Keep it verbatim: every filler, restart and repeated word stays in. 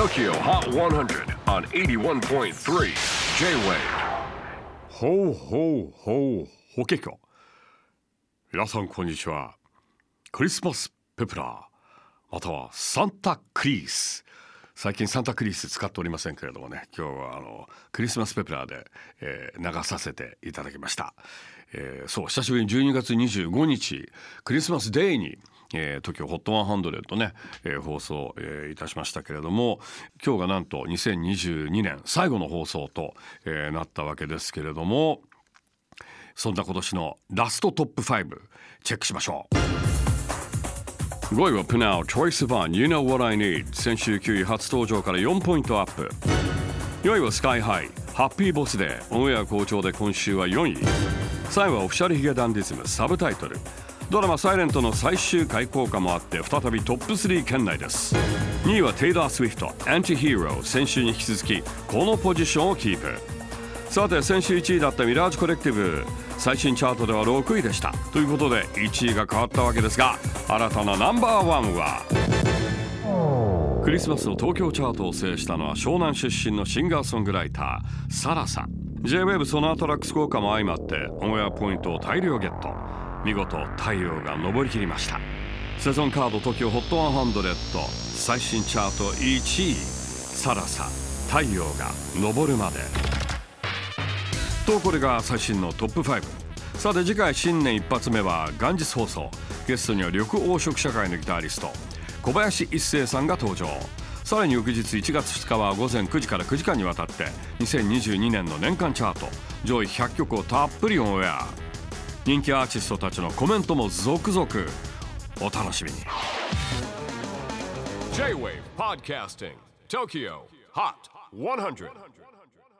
Tokyo Hot one hundred on eighty-one point three J-Wave。 ほうほうほうほけきょ。皆さんこんにちは。クリスマスペプラーまたはサンタクリース、最近サンタクリース使っておりませんけれどもね、今日はあのクリスマスペプラーで、えー、流させていただきました。えー、そう久しぶりにじゅうにがつにじゅうごにちクリスマスデーにえー、TOKIO ホットひゃくね、えー、放送、えー、いたしましたけれども、今日がなんとにせんにじゅうにねん最後の放送と、えー、なったわけですけれども、そんな今年のラストトップごチェックしましょう。ごいは Pnau Choice One You Know What I Need、 先週きゅうい初登場からよんポイントアップ。よんいは Sky High ハッピーボスでオンエア好調で今週はよんい。さんいはオフィシャルヒゲダンディズムサブタイトル、ドラマサイレントの最終回効果もあって再びトップスリー圏内です。にいはテイラー・スウィフトアンティヒーロー、先週に引き続きこのポジションをキープ。さて先週いちいだったミラージュコレクティブ、最新チャートではろくいでした。ということでいちいが変わったわけですが、新たなナンバーワンはクリスマスの東京チャートを制したのは湘南出身のシンガーソングライターサラさん。 J-Wave ソナートラックス効果も相まってオンエアポイントを大量ゲット。見事太陽が昇りきりました。セゾンカード TOKIO ホットひゃく最新チャートいちい、サラサ太陽が昇るまでと、これが最新のトップご。さて次回新年一発目は元日放送。ゲストには緑黄色社会のギタリスト小林一生さんが登場。さらに翌日いちがつふつかは午前くじからくじかんにわたってにせんにじゅうにねんの年間チャート上位ひゃっきょくをたっぷりオンエア。人気アーティストたちのコメントも続々お楽しみに。 J-Wave Podcasting TOKIO Hot ひゃく